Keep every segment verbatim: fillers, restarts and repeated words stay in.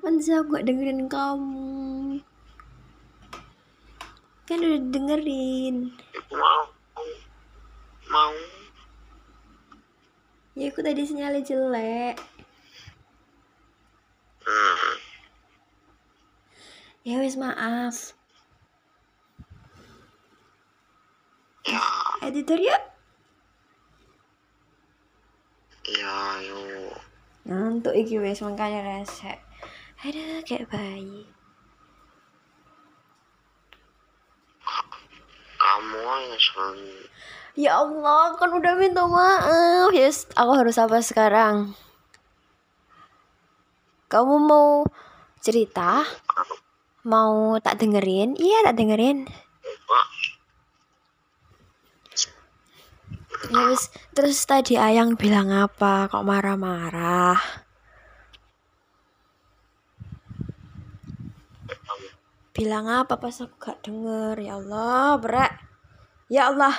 Kapan sih aku gak dengerin kamu? Kan udah dengerin. Aku mau. Mau. Ya aku tadi sinyalnya jelek. Hmm. Ya wes maaf. Ya. Editor yuk. Ya yuk. Ngantuk iki wes makanya resek. Aduh kayak bayi. Kamu yang selalu. Ya Allah, kan udah minta maaf. Yes, aku harus apa sekarang? Kamu mau cerita? Mau tak dengerin? Iya, tak dengerin. Ya wis, terus tadi Ayang bilang apa? Kok marah-marah? Bilang apa pas aku gak denger? Ya Allah, berat. Ya Allah.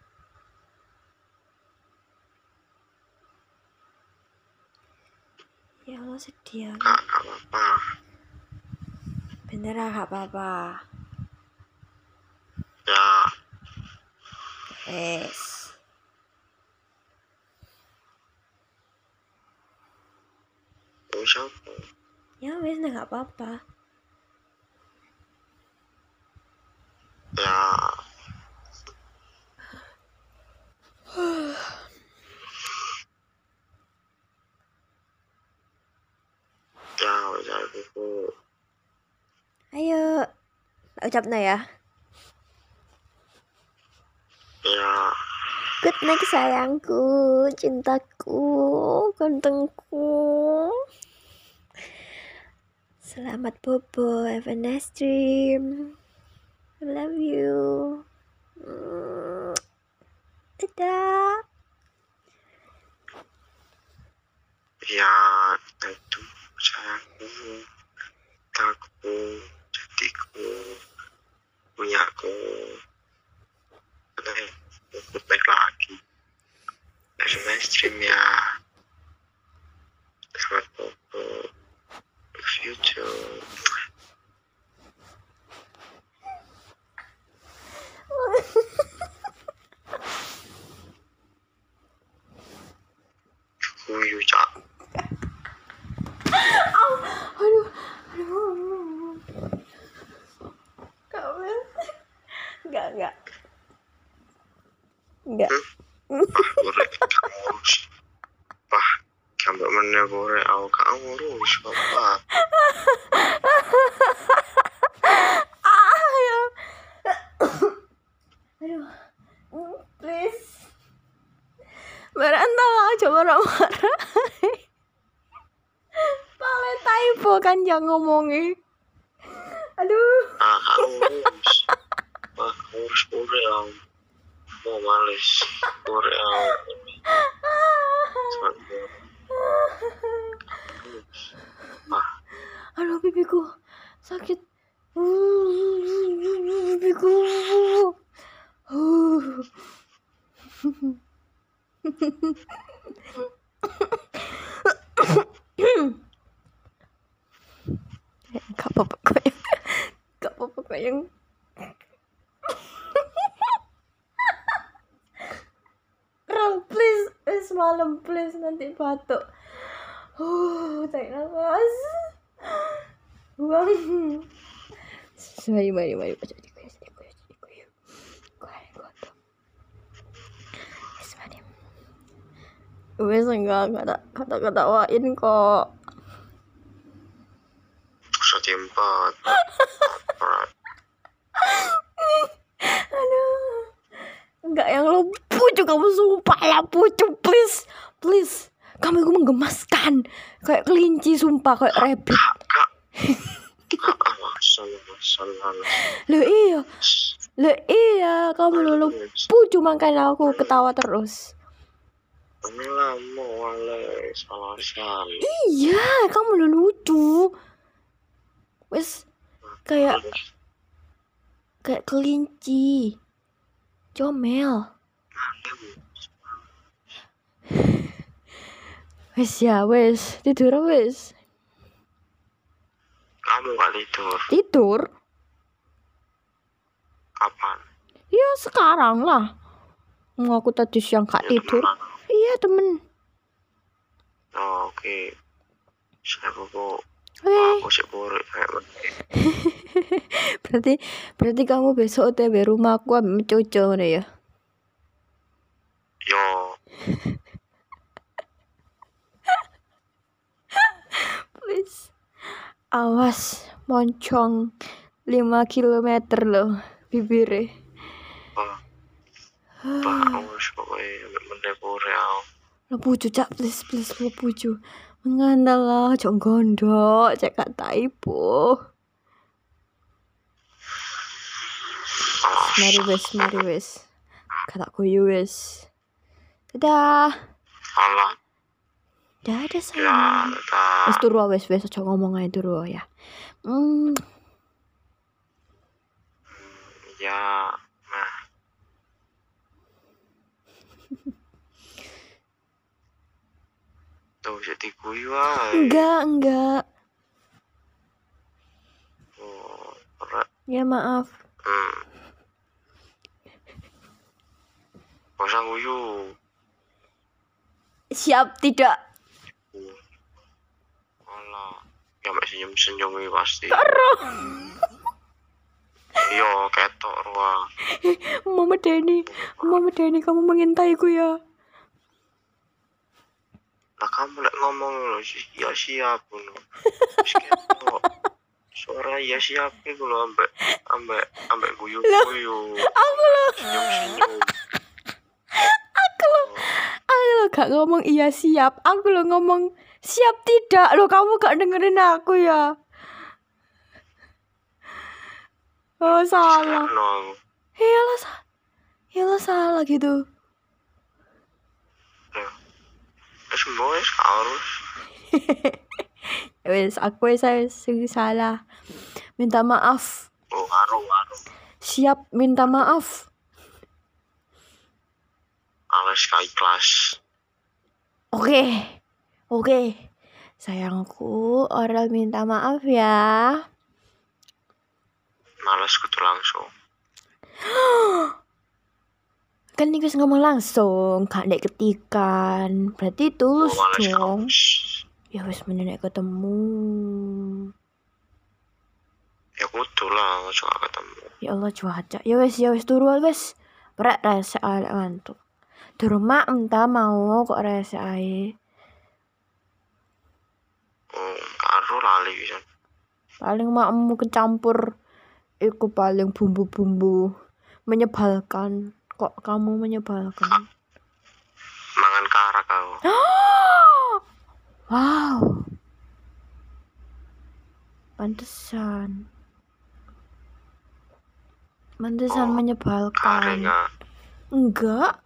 Ya Allah sedih aku. Gak apa-apa. Bener gak apa-apa. Ya. Wes. Wis apa? Ya wes, nah gak apa-apa. Ya. Ya wis aku. Ayo. Ucapnya ya. Ya. Good night sayangku, cintaku, gantengku. Selamat bobo, have a nice dream. I love you. Dadah. Ya itu sayangku, takku, jadiku, punyaku. Oke, aku baik lagi. Have a nice dream ya. Selamat bobo. Love you too. Kuyu cak. Aduh, aduh. Kamu enggak, enggak. Enggak. Ah, gorek kamu urus. Pah, sampai mana gorek aku kamu urus apa? Ayo. Aduh. Please. Berantah aja marah-marah. Pale typo kan yang ngomongin. Aduh. Ah, urus. Ah, urus gorek aku. Mau males gorek aku. Sampai ah, Aduh pipiku sakit. Pipiku. Gak apa-apa kok yang Gak apa-apa kok yang Ral please. Wes malam please, nanti batuk. Uh, tarik nafas. Buang. Mari, mari, mari. Baca diku ya, diku ya, diku ya. Kuai, kuai. Wes, mari. Wes enggak, kata kata ketawain kok. satu empat. Aduh. Enggak yang lo pucuk, kamu sumpah ya pucuk, please. Please. Kamu itu menggemaskan. Kayak kelinci sumpah, kayak rabbit. Kak. Kak, masalah, masalah. Loh iya. Loh iya, kamu lo pucuk makanya aku ketawa terus. Ini lama wale salah salah. Iya, kamu lo lucu. Wes kayak kayak kelinci. Comel. Wes ya, wes tidur wes. kamu gak tidur? Tidur? Kapan? Ya sekarang lah. Mau aku tadi siang gak Ya, tidur. temenan. Iya temen. Oh, oke. Okay. Saya kok Weh. aku sih buruk kayak begini. berarti berarti kamu besok O T W rumah aku ambil cucu nih ya. Yo, Please. Awas moncong lima kilometer loh bibirnya. Pak. Pak, harus pokoknya menepure aku. Lepuju cak please please lepuju. Mengandal lah jong gondok cek kata ibu. Mari wes mari wes. Kata kuyu wes. Dadah. Alah. Dadah Ya, sayang. tetap. Wes turu wes wes aja ngomong ae turu ya. Hmm. Ya, nah. Tuh, jadi kuyu aja. Enggak enggak. Oh, berat. Ya maaf. Hmm. Gak usah kuyu. Siap tidak? Alah. Ya, mek senyum-senyum ini pasti. Karo. Iya, ketok ruang. Mama Deni, Mama Deni kamu mengintaiku ya. Nah, kamu lek ngomong lo, ya siap lo. Terus ketok. Suara ya siap itu lo, ambek ambek ambek guyu-guyu. Aku lo, Senyum-senyum. aku lo, aku lo gak ngomong iya siap. Aku lo ngomong siap tidak lo. Kamu gak dengerin aku ya. Oh salah. No. Iyalah salah. Iyalah salah gitu. Ya. Terus boys harus. Wes aku saya salah. Minta maaf. Oh, aru-aru. Siap minta maaf. Alas kai kelas. Oke. Oke. Sayangku, Oral minta maaf ya. Males kudu langsung. Kan nih ngomong langsung, gak nek ketikan. Berarti tulus Oh, males dong. kampus. Ya wes menenek ketemu. Ya kudu lah, ojo gak ketemu. Ya Allah cuaca. Ya wes ya wes turu wes. Berat rasa alek ngantuk. Durung mak entah mau kok rasa ae. Oh, karo lali bisa. Paling makmu kecampur iku paling bumbu-bumbu menyebalkan. Kok kamu menyebalkan? Mangan karak kau. Wow. Pantesan. Pantesan Oh, menyebalkan. Karenga. Enggak.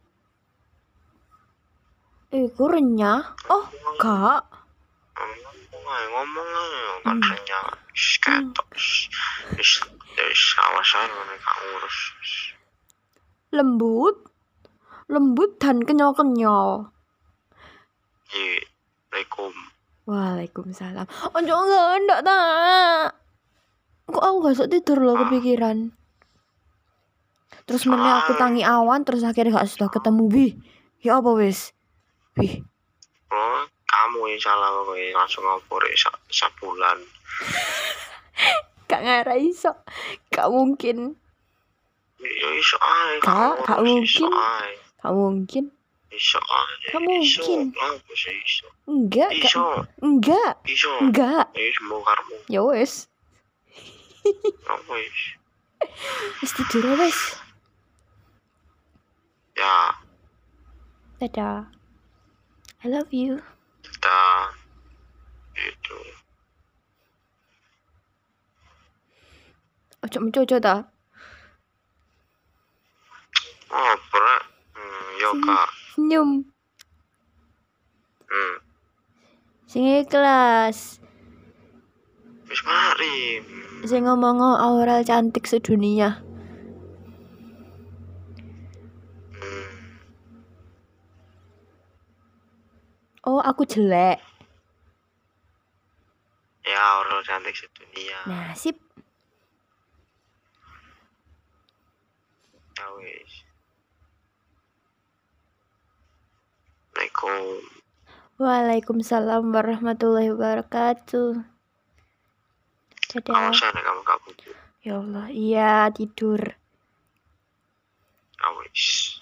Iku renyah. Oh, enggak. Ngomong aja, ngomong aja. Kan Hmm. renyah. Shh, ketok. Shh, shh, awas aja mereka ngurus. Lembut. Lembut dan kenyal-kenyal. Iya, Assalamualaikum. Waalaikumsalam. Oh, enggak, enggak, tak. Kok aku gak sok tidur loh kepikiran. Terus meneh aku tangi awan, terus akhirnya gak sudah ketemu. Wih, ya apa wis? Wih, Oh, kamu yang salah pokoknya langsung ngopor sak sabulan. gak ngarah iso. Gak mungkin. Ya iso ae, Gak, gak mungkin. Iso ae. Gak mungkin. Iso ae. Gak mungkin. Iso, apa sih iso? Enggak, gak. Iso, Enggak. iso. Enggak. Ya semua karmu. Ya wis. Apa wis? Wis tidur wis. Ya, Dadah. I love you. kita itu. Ojo mencoco ta. Oh, berat. Hmm, yo kak. Senyum. Hmm. Sing ikhlas. Wis mari. Sing ngomong Aurel cantik sedunia. Hmm. Oh, aku jelek. Ya, ora model cantik sedunia. Nah, sip. Ya wis. Assalamualaikum. Waalaikumsalam warahmatullahi wabarakatuh. Dadah. Awas ya kamu gak butuh. Ya Allah, iya tidur. Ya wis.